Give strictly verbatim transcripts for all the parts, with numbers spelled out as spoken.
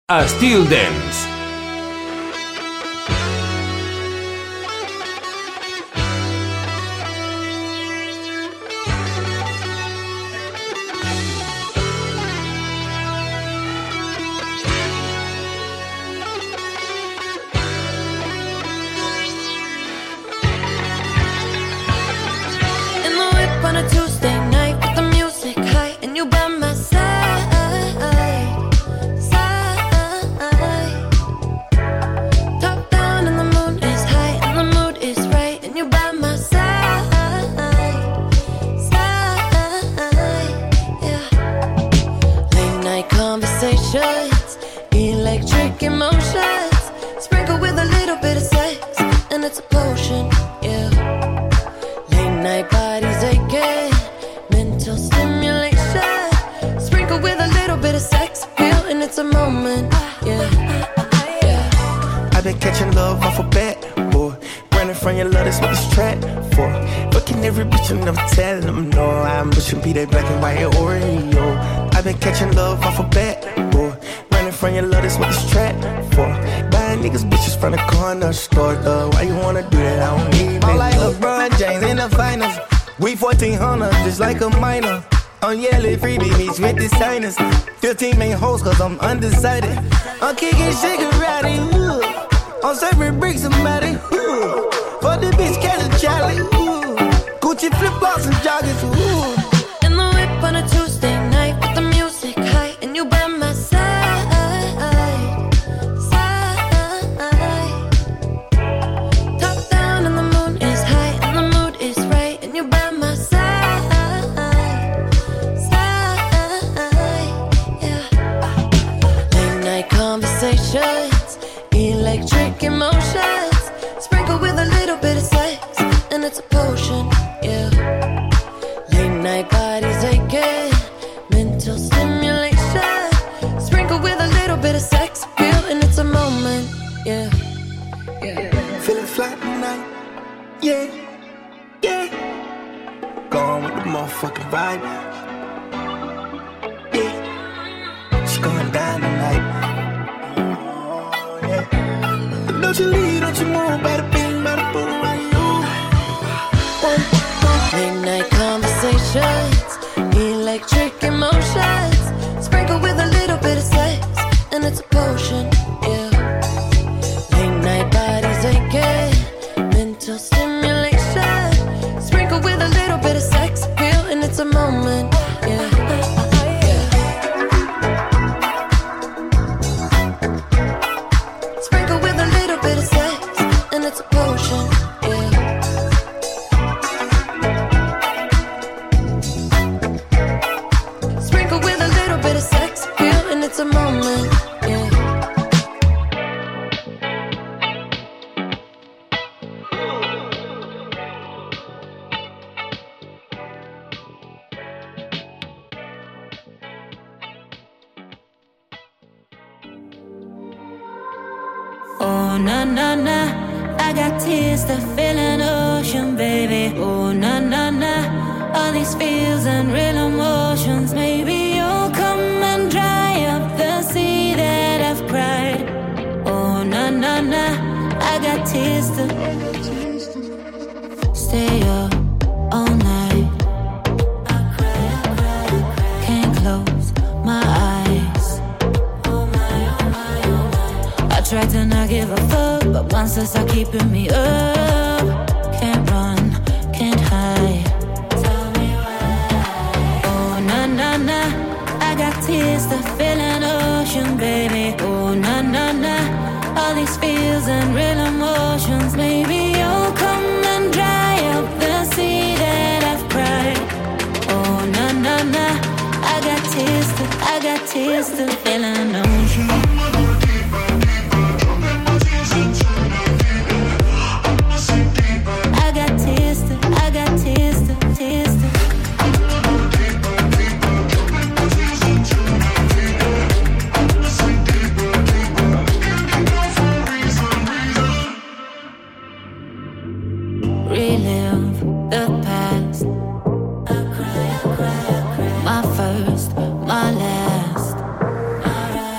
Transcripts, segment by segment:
Styl Dance. Be that black and white Oreo. I've been catching love off a bat, boy. Running from your love, that's what this trap for. Buying niggas bitches from the corner store, though. Why you wanna do that? I don't need it. I'm like LeBron James in the finals. We fourteen hundred, just like a minor. I'm yelling freebie meets with the signers. fifteen main hoes, cause I'm undecided. I'm kicking Shigarati, ooh. I'm serving bricks somebody, ooh. For the bitch, catch a Charlie, ooh. Gucci flip-flops and joggers, ooh. On a Tuesday night with the music high and you by my side, side. Top down and the moon is high and the mood is right and you by my side, side. Yeah. Late night conversations, electric emotions, sprinkled with a little bit of sex and it's a potion. Yeah. Late night bodies aching, mental stimulation, sprinkled with a little bit of sex appeal, and it's a moment, yeah, yeah. Feeling fly tonight, yeah, yeah. Going with the motherfucking vibe, yeah. It's going down tonight, oh, yeah. But don't you leave, don't you move, bada bing, bada boom, around you. Late night conversations, electric emotions, sprinkled with a little bit of sex, and it's a potion, yeah. Late night bodies aching, mental stimulation, sprinkled with a little bit of sex appeal, and it's a moment, yeah. Sprinkled with a little bit of sex, and it's a potion, yeah. It's a moment, yeah. Oh, na, na, na, I got tears that fill an ocean, baby. Oh, na, na, na, all these feels and real emotions. Maybe you'll come and dry up the sea that I've cried. Oh, na, na, na, I got tears to stay up all night. Can't close my eyes. I try to not give a fuck, but monsters are keeping me up. Can't run, can't hide. Oh, na, na, na, I got tears that fill an ocean, baby. Oh, na, na, na, all these feels and real emotions. Maybe you'll come and dry up the sea that I've cried. Oh, na, na, na, I got tears to, I got tears to fill an ocean. I got tears to, I got tears to, tears to. Relive the past. My first, my last.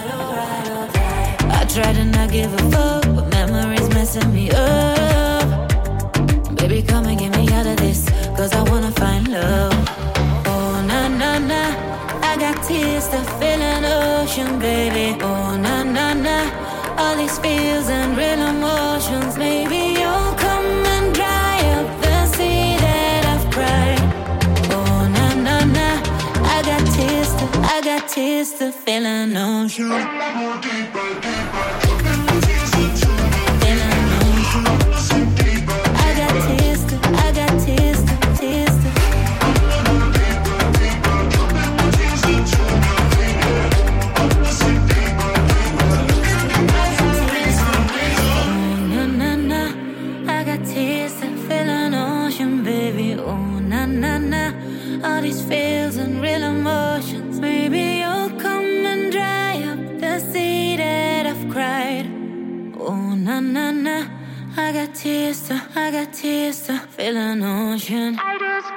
try to not give a fuck, but memories messing me up. Baby, come and get me out of this, cause I wanna find love. Oh, na, na, na, I got tears to fill an ocean, baby. Oh, na, na, na, all these feels and real emotions. Maybe you'll come and dry up the sea that I've cried. Oh, na, na, na, I got tears to, I got tears to fill an ocean. All these feels and real emotions. Maybe you'll come and dry up the sea that I've cried. Oh, na, na, na, I got tears to, I got tears to fill an ocean. I just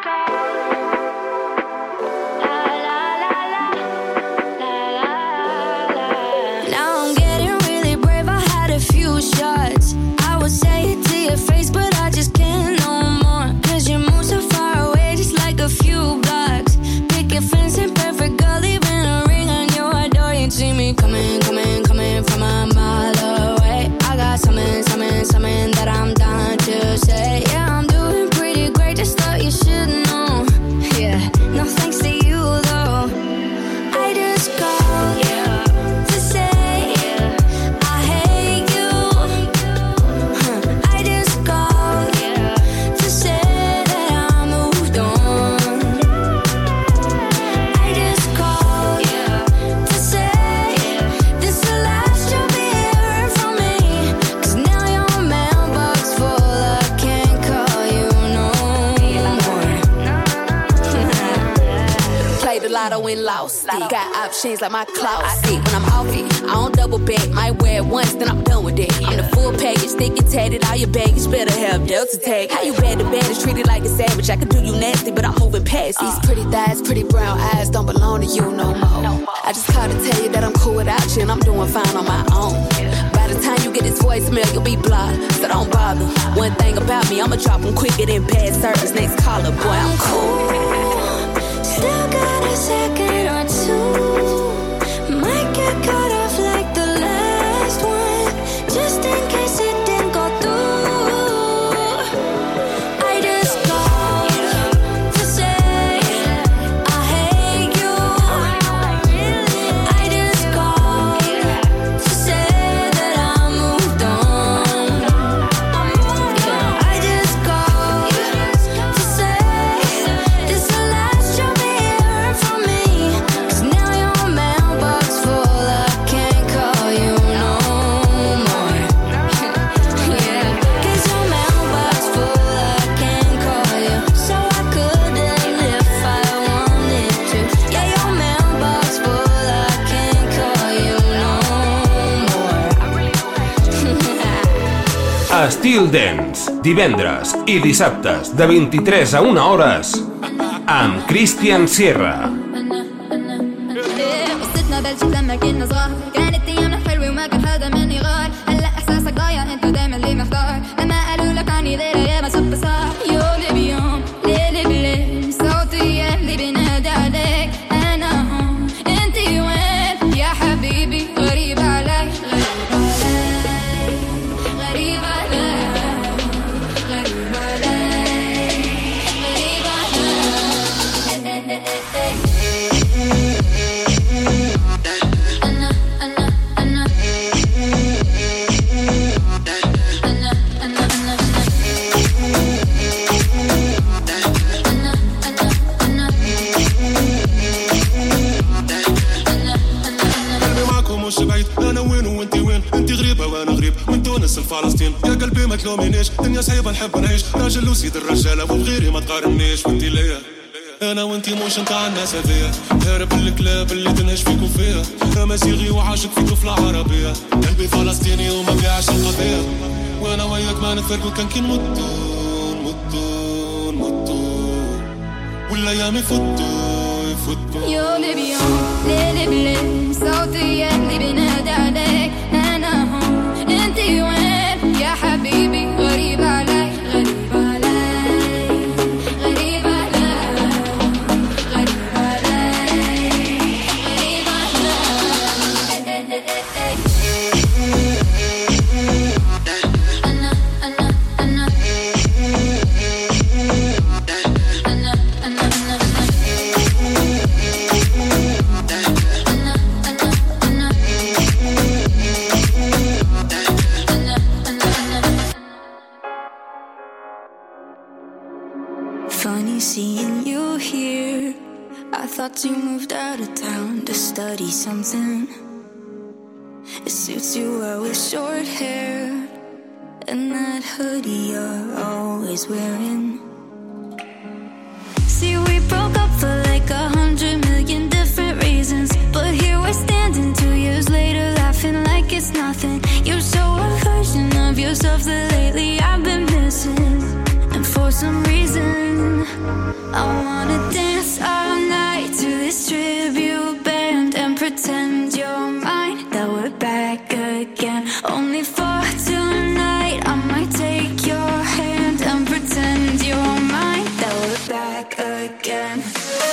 Now I'm getting really brave, I had a few shots. I would say it to your face, but I just can't no more. Cause you move so far away, just like a few blocks. Picket fence in perfect girl, leaving a ring on your door. You see me coming, coming, coming from a mile away. I got something, something, something that I'm down to say. Yeah, I'm doing pretty great, just thought you should know. Yeah, no thanks to you though. I just called yeah. to say yeah. I hate you. Huh. I just called yeah. to say that I moved on. I just called yeah. to say yeah. this the last you'll be hearing from me. Cause now your mailbox full, I can't call you no more. Played the lotto and lost it. Got options like my closet. When I'm off it, I don't double back. Might wear it once, then I'm done with it. I'm the full package, thick and tatted. All your baggage better have Delta tag. How you bad to bad is treated like a savage. I could do you nasty, but I'm moving past these pretty thighs, pretty brown eyes don't belong to you no more. I just called to tell you that I'm cool without you and I'm doing fine on my own. By the time you get this voicemail, you'll be blocked, so don't bother. One thing about me, I'ma drop them quicker than bad service. Next caller, boy, I'm cool. Still got a second or two. Might get cut off like the last one, just in case it didn't go through. I just called to say I hate you. I just called to say that I moved on. I just called to say this the last you'll be hearing from me. Cause now your mailbox full, I can't call you no more. Yeah, cause your mailbox full, I can't call you. So I couldn't if I wanted to. Yeah, your mailbox full, I can't call you no more. Estil Dance, divendres i dissabtes de vint-i-tres a una hores amb Christian Sierra. قصتنا بلشت لما كنا صغار، كانت ايامنا حلوه وما كان حدا مني غار. هلا احساسك ضايع انت دايما اللي محتار، لما قالوا لك عني غير يا ما صرت صار. يوم بيوم ليل بليل صوتي اللي بينادي عليك. انا هون انت وين يا حبيبي؟ غريب علي غريب علي غريب علي غريب علي أنا أنا أنا فلسطين يا قلبي ما تلومينيش دنيا صعيبة نحب نعيش راجل وسيد الرجالة وبغيري ما تقارنيش وانتي ليا انا وانتي موش نتاع الناس هذيا هارب الكلاب اللي تنهش فيكو فيها امازيغي وعاشق في طفلة عربية قلبي فلسطيني وما بيعش القضية وانا وياك ما نتفرقوا كان كي نموتو نموتو نموتو والايام يفوتوا يفوتوا يوم بيوم ليل بليل صوتي اللي بينادي عليك انا seeing you here. I thought you moved out of town to study something. It suits you well with short hair and that hoodie you're always wearing. See, we broke up for like a hundred million different reasons, but here we're standing two years later laughing like it's nothing. You show a version of yourself that lately I've been missing. And for some reason I wanna dance all night to this tribute band and pretend you're mine, that we're back again. Only for tonight I might take your hand and pretend you're mine, that we're back again.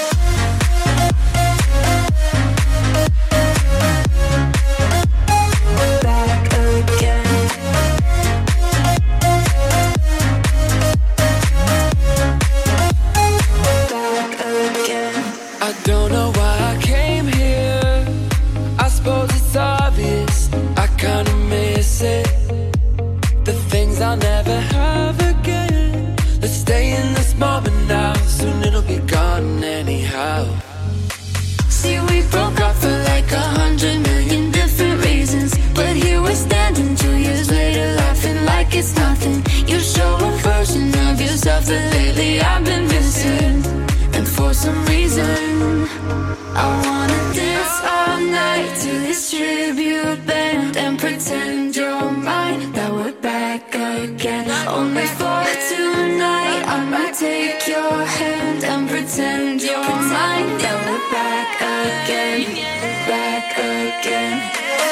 I don't know why I came here. I suppose it's obvious, I kinda miss it. The things I'll never have again. Let's stay in this moment now, soon it'll be gone anyhow. See, we broke up for like a hundred million different reasons, but here we're standing two years later laughing like it's nothing. You show a version of yourself that lately I've been missing. And for some reason I wanna dance all night to this tribute band and pretend you're mine, that we're back again. Only for tonight I might take your hand and pretend you're mine, that we're back again, back again.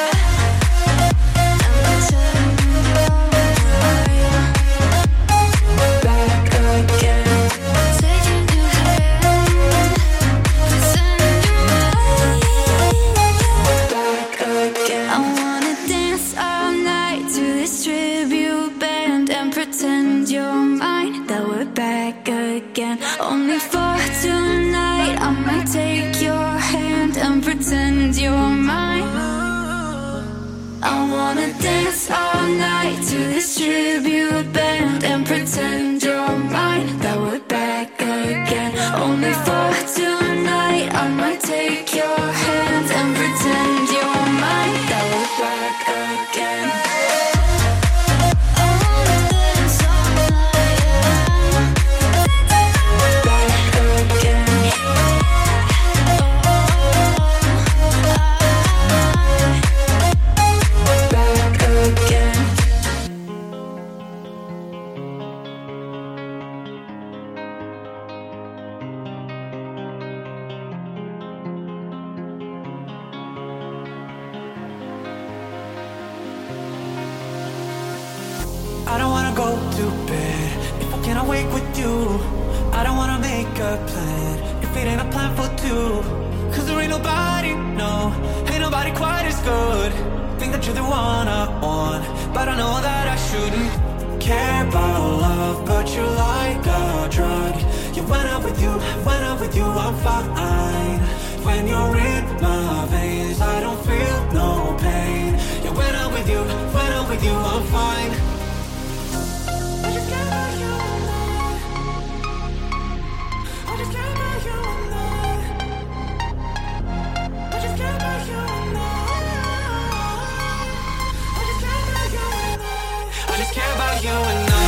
Only for tonight I might take your hand and pretend you're mine. I wanna dance all night to this tribute band and pretend you're mine, that we're back again. Only for tonight I might take your hand and pretend you're mine, that we're back again. I don't wanna go to bed if I can't awake with you. I don't wanna make a plan if it ain't a plan for two. Cause there ain't nobody, no, ain't nobody quite as good. Think that you're the one I want, but I know that I shouldn't care about love, but you're like a drug. Yeah, when I'm with you, when I'm with you, I'm fine. When you're in my veins, I don't feel no pain. Yeah, when I'm with you, when I'm with you, I'm fine. I just can't about you and that. I just can't about you and that. I just can't about you and that. I just can't about you and that. I just care about you and I.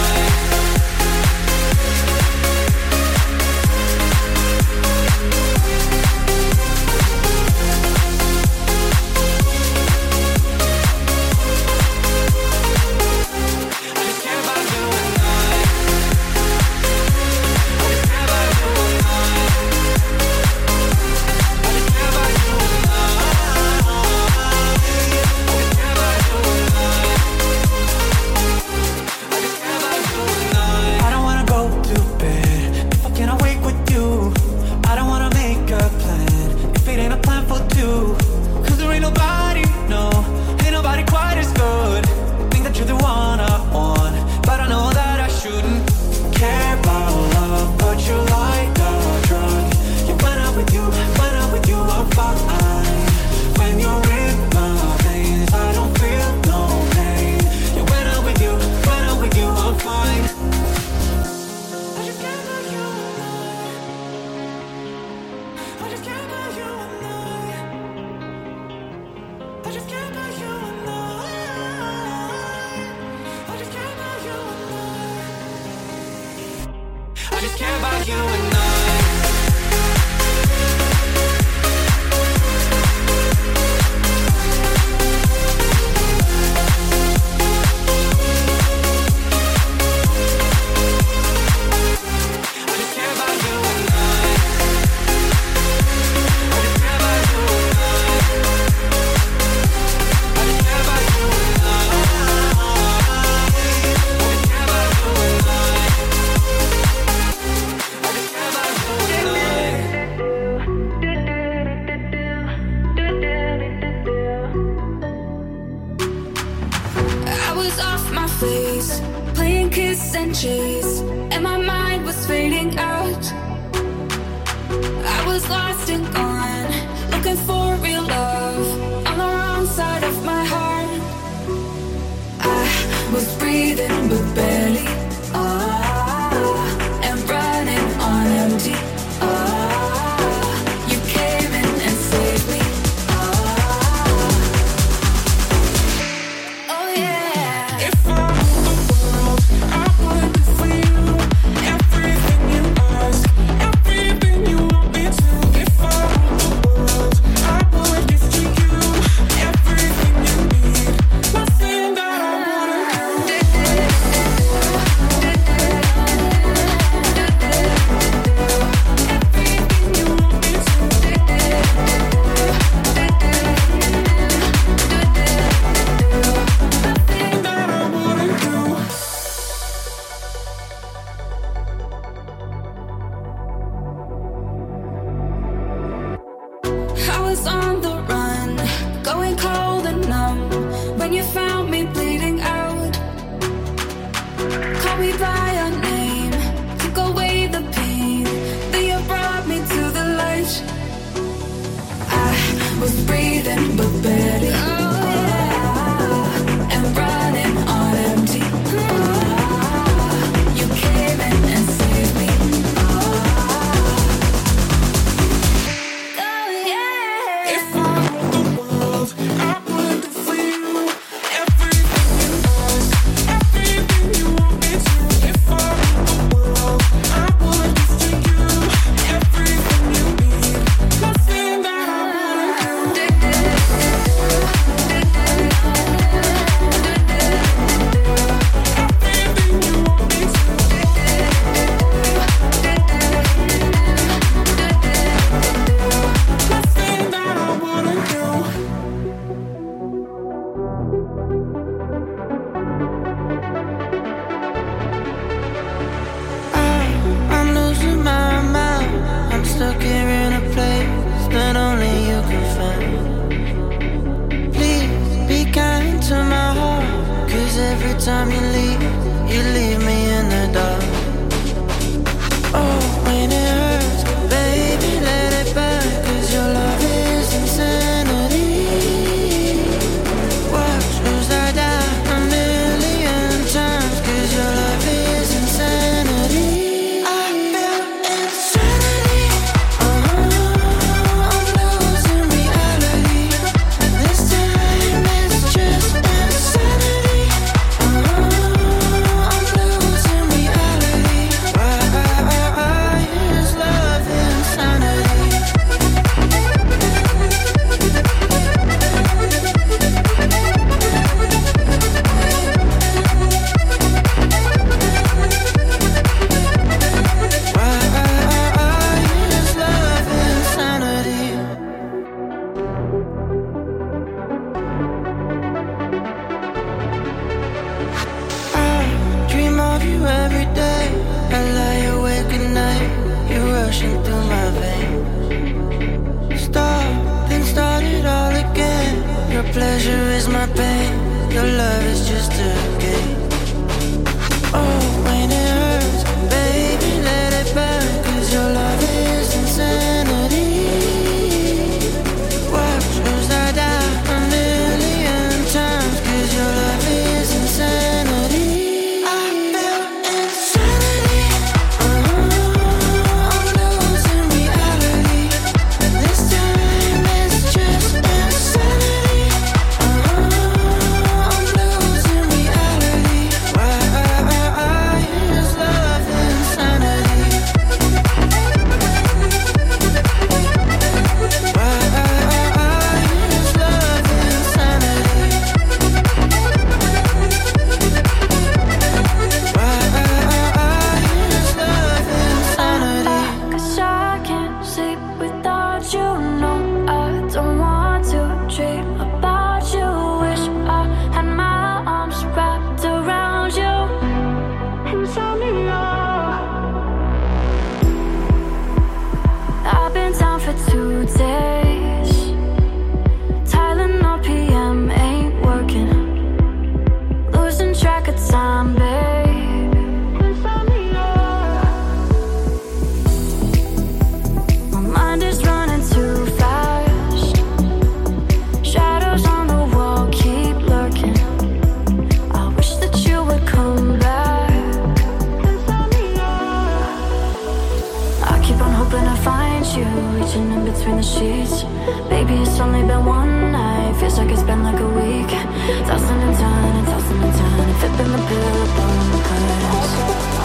and turn and tossing and turning, flipping the bill upon the curtains.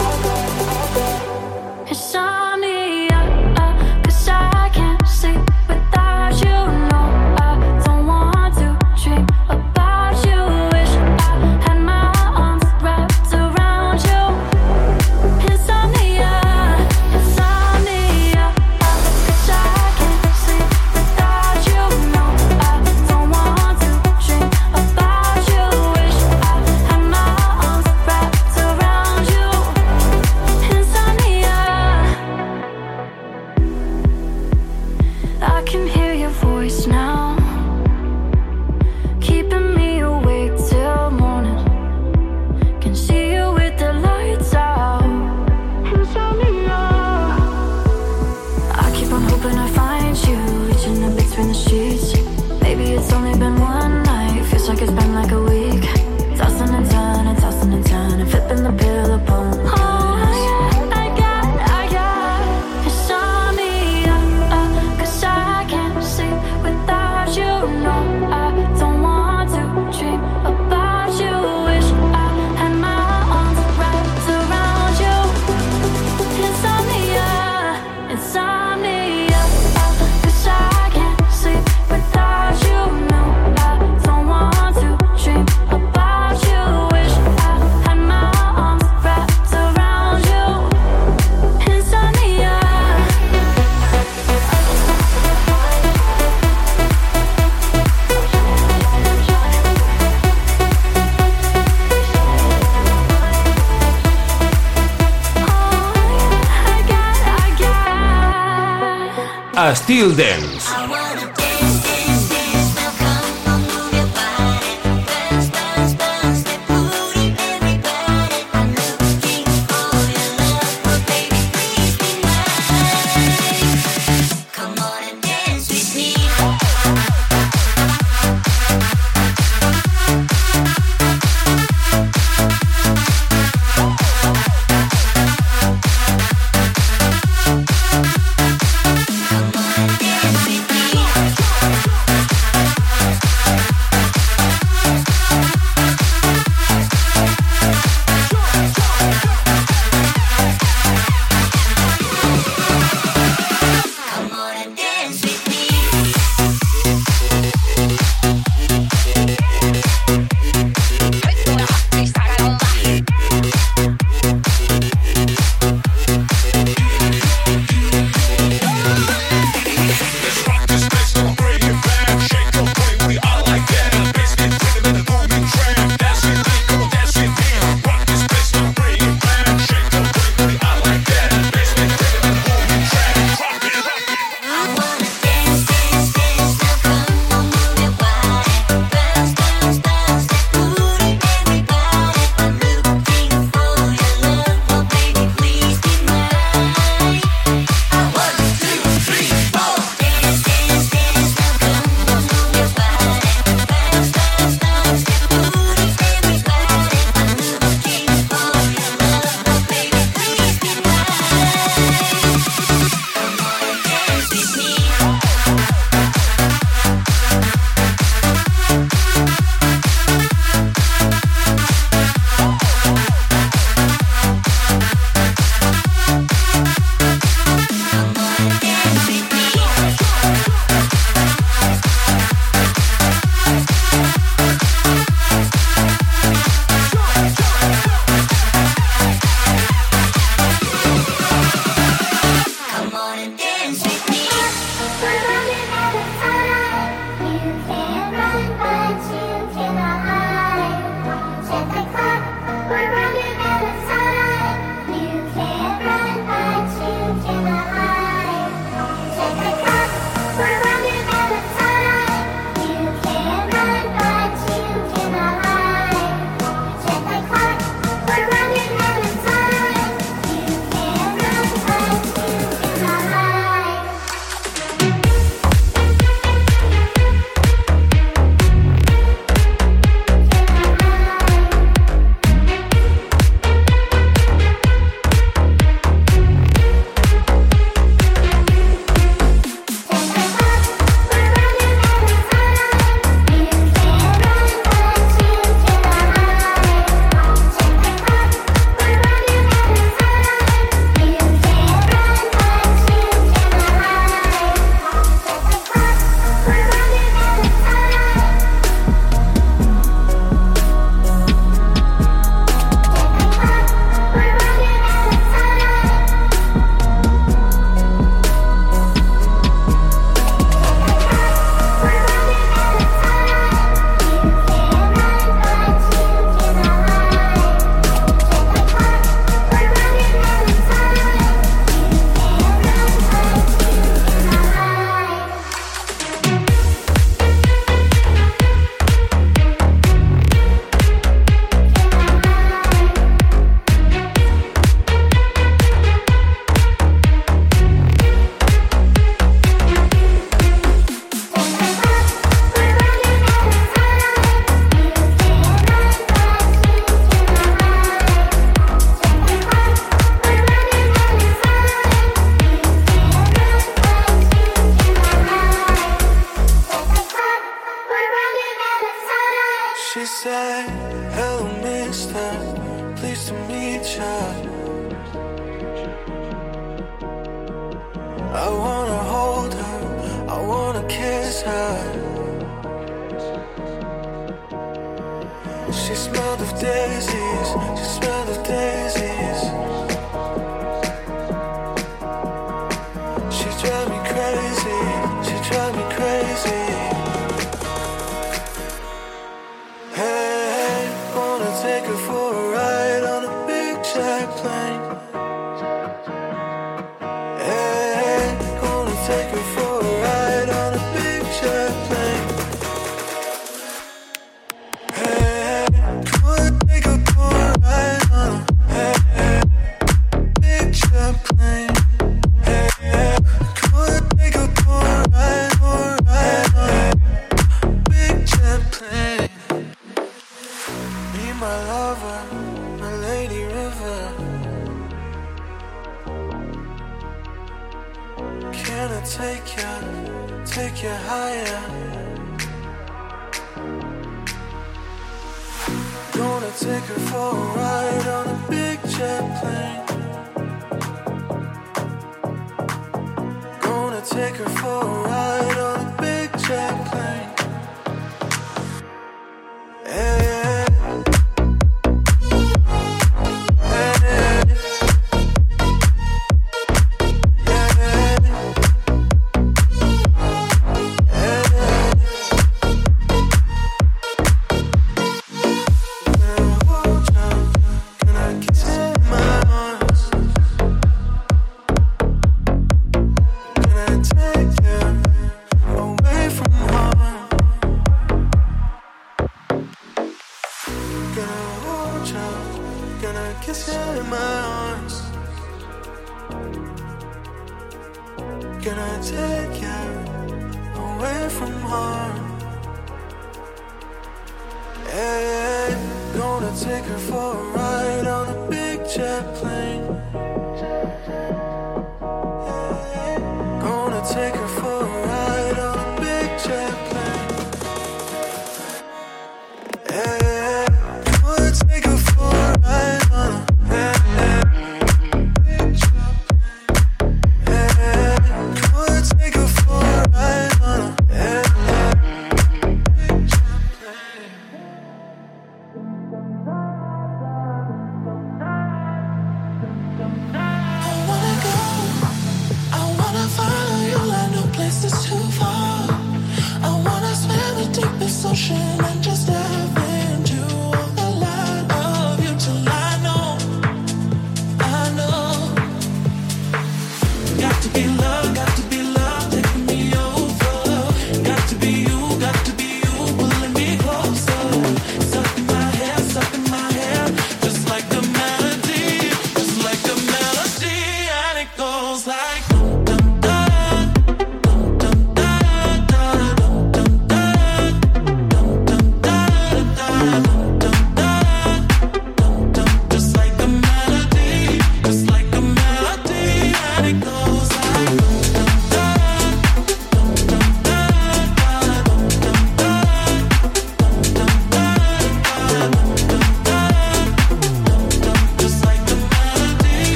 Insomnia, uh, 'cause I can't sleep without you. No, I don't want to dream about you. Wish I had my arms wrapped around you. Insomnia, insomnia, uh, 'cause I can't sleep without you. No, I don't want to dream about you. Wish I had my arms wrapped around you. Insomnia, I can hear your voice now, keeping me awake till morning. Can see you with the lights out. Insomnia, I keep on hoping I find you, reaching in between the sheets. Maybe it's only been one night, feels like it's been like a week. Tossing and turning, tossing and turning, flipping the bill upon the curtains. I got, I got insomnia, uh, 'cause I can't sleep without you. No, I don't want to dream about you. Wish I had my arms wrapped around you. Insomnia, insomnia, uh, 'cause I can't sleep without you. No, I don't want to dream about you. Wish I had my arms wrapped around you. Insomnia. I got, I got. Estil Dance. Come on and dance with said, hello mister, pleased to meet ya. I wanna hold her, I wanna kiss her. She smelled of daisies, she smelled of daisies. She drive me crazy, she drive me crazy. Hey, wanna take her for a ride on a big jet plane. Hey, gonna take her for a ride on a big jet plane. Hey, gonna take her for a ride on a hey, hey, big jet plane. Hey, hey, gonna take her for a ride, for a ride on a big jet plane. Me, my lover, my lady river. Can I take you, take you higher? Gonna take her for a ride on a big jet plane. Gonna take her for a ride on a big jet plane. Hey, hey.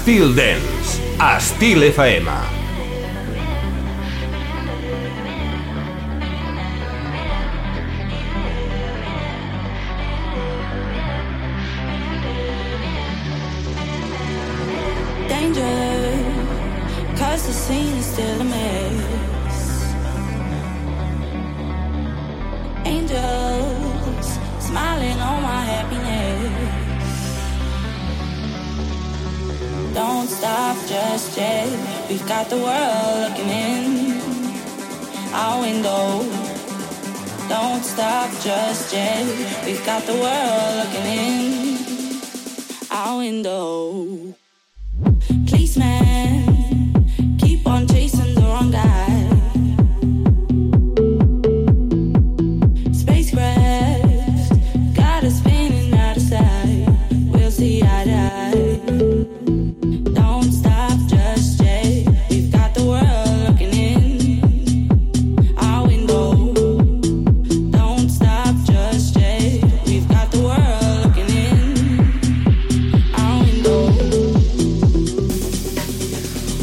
Estil Dance, Estil F M. Cause the scene is still a mess. Angels smiling on my happiness. Don't stop just yet. We've got the world looking in our window. Don't stop just yet. We've got the world looking in our window. Policeman, keep on chasing the wrong guy. Spacecraft, got us spinning out of sight. We'll see eye to eye. Don't stop just yet. We've got the world looking in our window. Don't stop just yet. We've got the world looking in our window.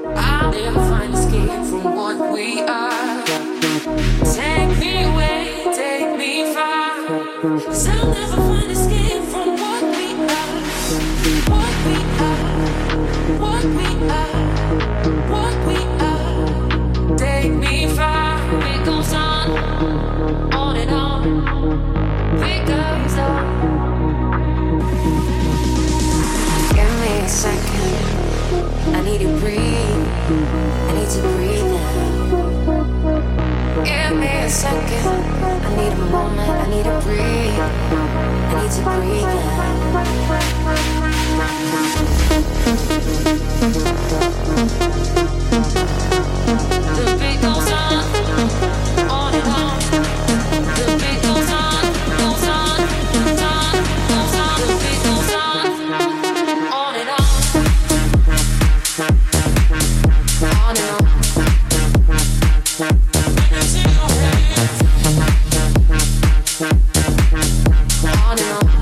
I'll never find escape from what we are. Take me away, take me far. 'Cause I'll never find escape from what we are. What we are, what we are, what we are. Take me far. It goes on, on and on. It goes on. Give me a second. I need to breathe. I need to breathe now. Give me a second. I need a moment. I need to breathe. I need to breathe now. The beat goes on, on and on. The beat goes on, goes on, goes on, goes on. The beat goes on, on and on. On and on. On and on.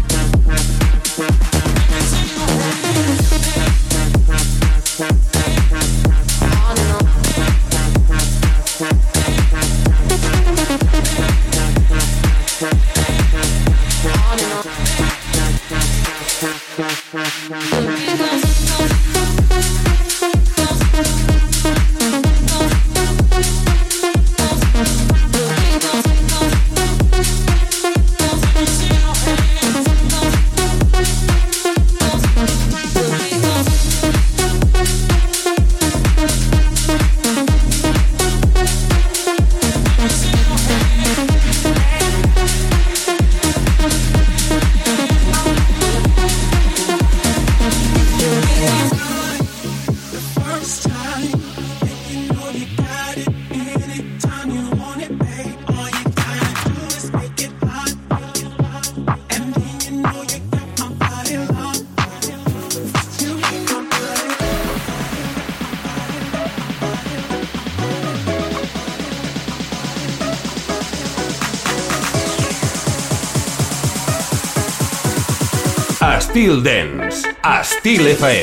Estil Dance, Estil F M.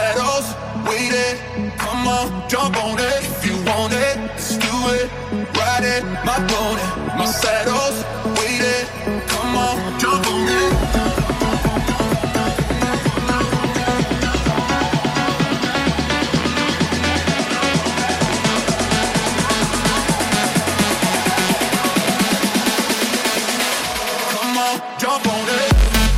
Come on, jump on it. If you want it, let's do it. Ride riding my pony, my saddle's waiting. Come on, jump on me. Come on, jump on it.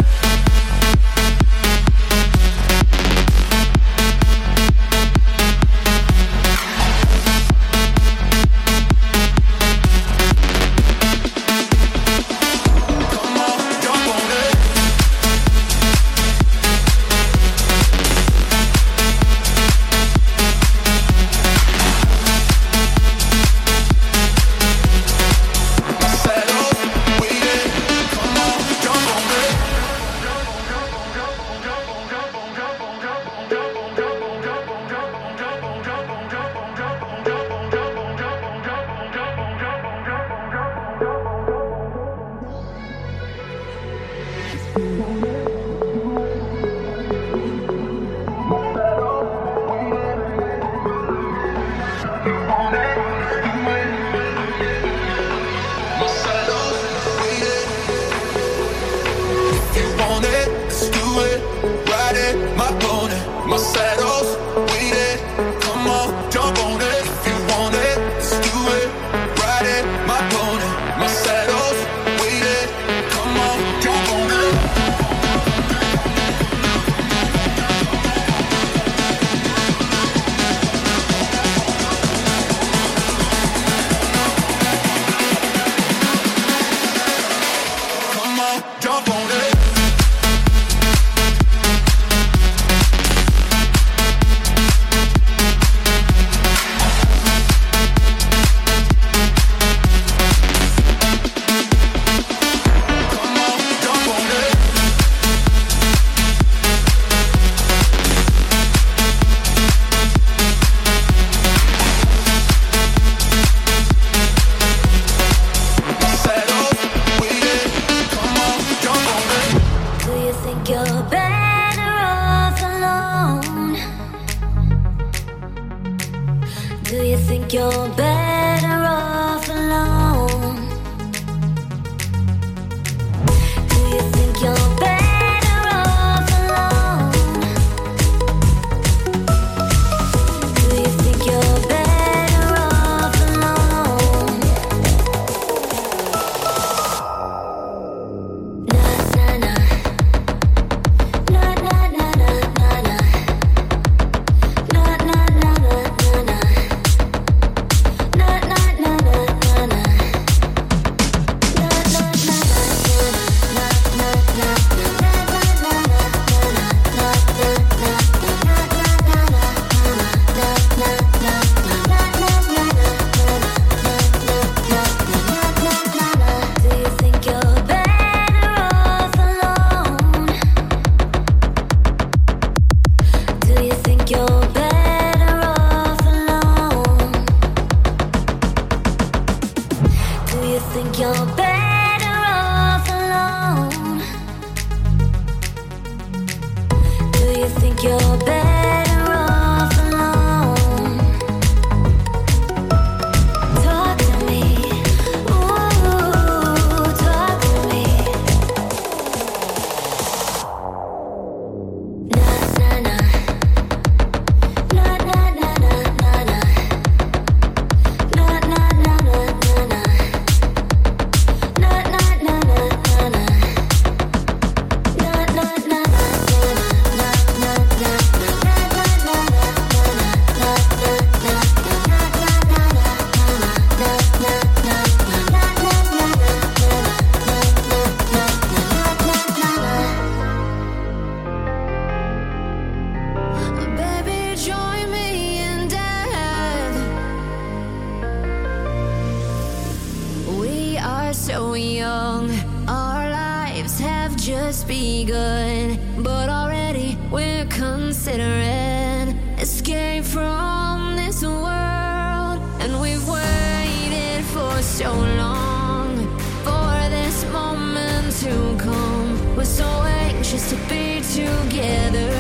To be together,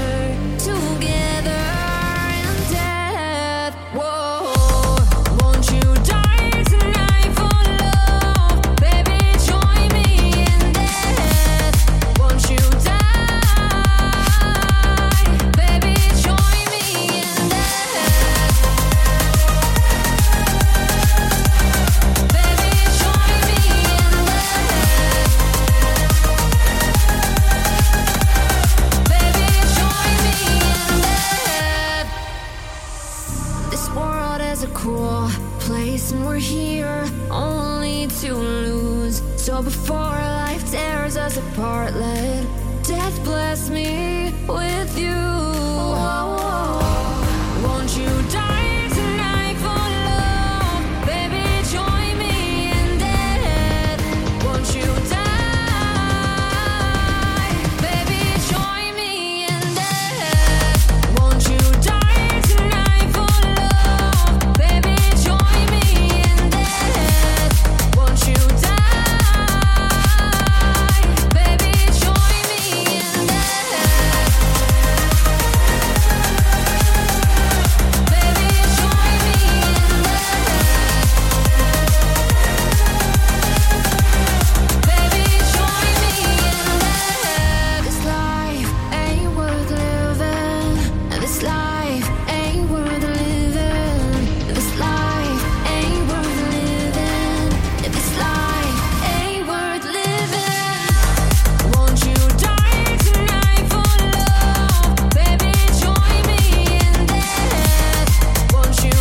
together in death. Whoa, won't you die tonight? know before life tears us apart, let death bless me with you. Won't you die tonight for love? Baby, join me in death. Won't you die? Baby, join me in death. Won't you die tonight for love? Baby, join me in death. Won't you die? Baby, join me in death. Baby, join me in death. Baby, join me in death. This life ain't worth living. This life ain't worth living. This life ain't worth living. This life ain't worth living. Won't you die tonight for love? Baby, join me in death. Won't you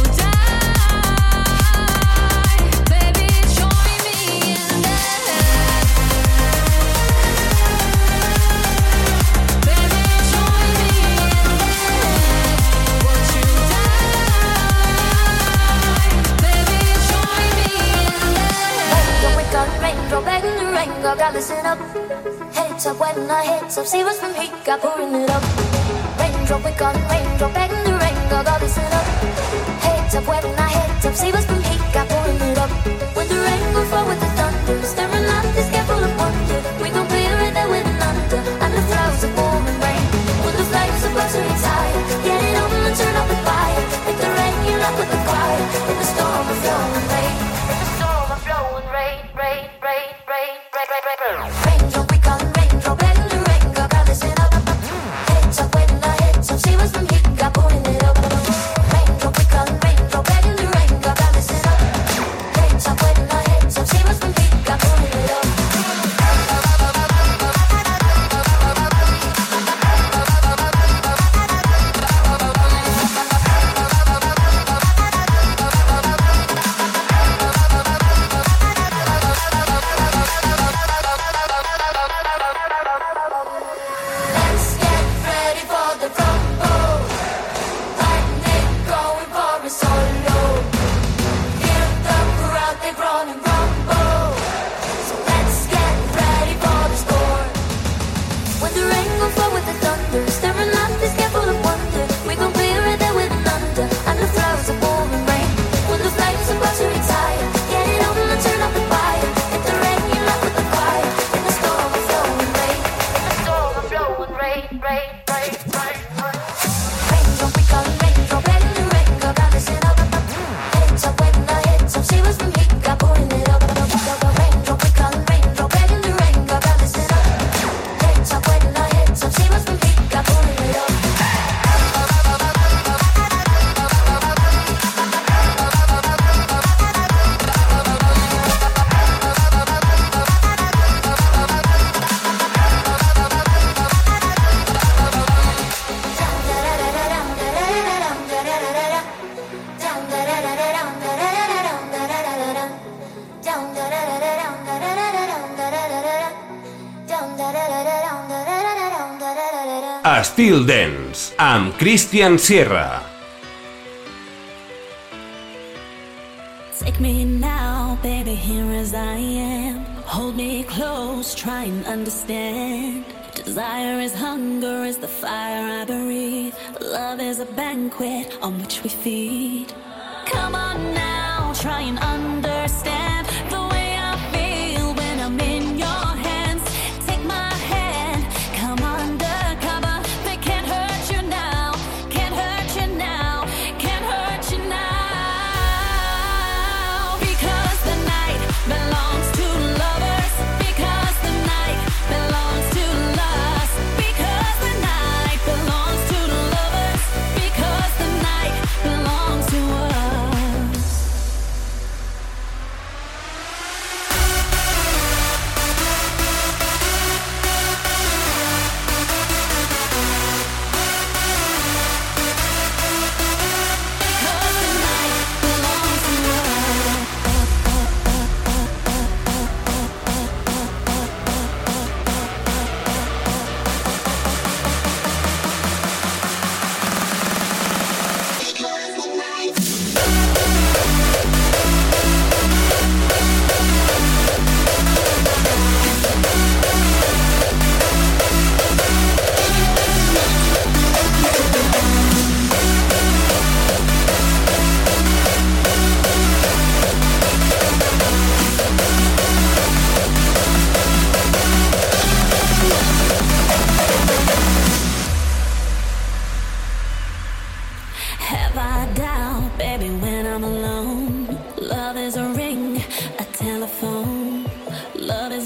die? Baby, join me in death. Baby, join me in death. Won't you die? Baby, join me in death. Don't wake up, raindrop, begging the rain, God, gotta listen up. Heads up, when our heads up, see what's from heat, got pouring it up. Raindrop, wake up, raindrop, begging the rain, God, gotta listen up. Heads up, when our heads up, see what's from heat, got pouring it up. When the rain will fall with the thunder, staring at this gap full of wonder, we gon' clear it there with an under, and the clouds are pouring rain. When the flames are about to retire, get it on and turn up the fire. Make the rain, you're up with the choir, in the storm of flowing rain. In the storm of flowing rain, rain, rain, rain, rain, rain, rain, rain. Raindrop, we come, raindrop, begging the rain, God, gotta listen up. Heads up, when our heads up, see what's from heat, got pouring it up. Raindrop, we come, raindrop, begging the rain, God, gotta listen up. Heads up, when our heads up, see what's from heat, got pouring it up. Let's get ready for the rumble. Lightning going for a solo. Hear the crowd, they run and rumble. So let's get ready for the storm. When the rain will fall with the thunder, staring at this gap full of wonder, we gon' clear it there with an under, and the clouds are pouring rain. When the flames are about to retire, get it on and turn up the fire. Hit the rain, you're up with the choir, in the storm of flowing rain. In the storm of flowing rain, rain, rain, rain, rain. Raindrop, we come, raindrop, begging the rain, God, gotta listen up. Heads up, when our heads up, see what's from heat, got pouring it up. Raindrop, we come, raindrop, begging the rain, God, gotta listen up. Heads up, when our heads up, see what's from heat, got pouring it up. Estil Dance, amb Christian Sierra. Take me now, baby, here as I am. Hold me close, try and understand. Desire is hunger, is the fire I breathe. Love is a banquet on which we feed. Come on now, try and understand the way I feel when I'm in your hands. Take my hand, come undercover. They can't hurt you now, can't hurt you now, can't hurt you now. Because the night belongs to lovers. Because the night belongs to lust. Because the night belongs to lovers. Because the night belongs to us.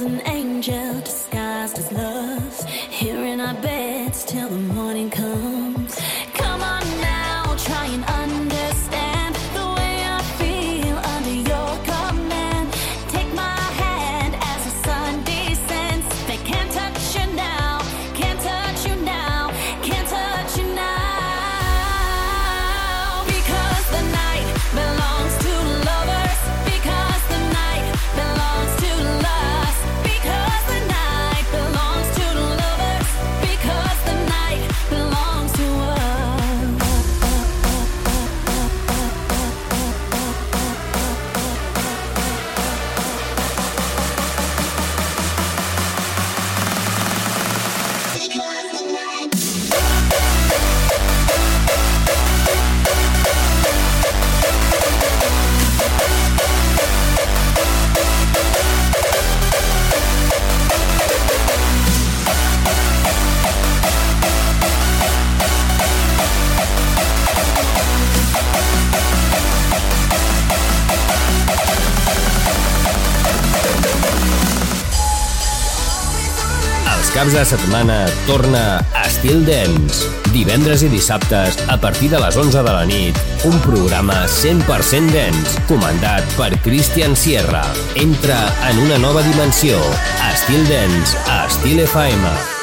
an angel disguised as love, here in our beds till the morning comes. Come on now, try and understand the way I feel under your command. Take my hand as the sun descends. They can't touch you now, can't touch you now, can't touch you now. Because the night belongs to lovers. Because the night belongs to us. Because the night belongs to lovers. Because the night belongs to us. Els caps de setmana torna Estil Dance. Divendres i dissabtes, a partir de les onze de la nit, un programa cent per cent dance, comandat per Christian Sierra. Entra en una nova dimensió. Estil Dance a Estil F M.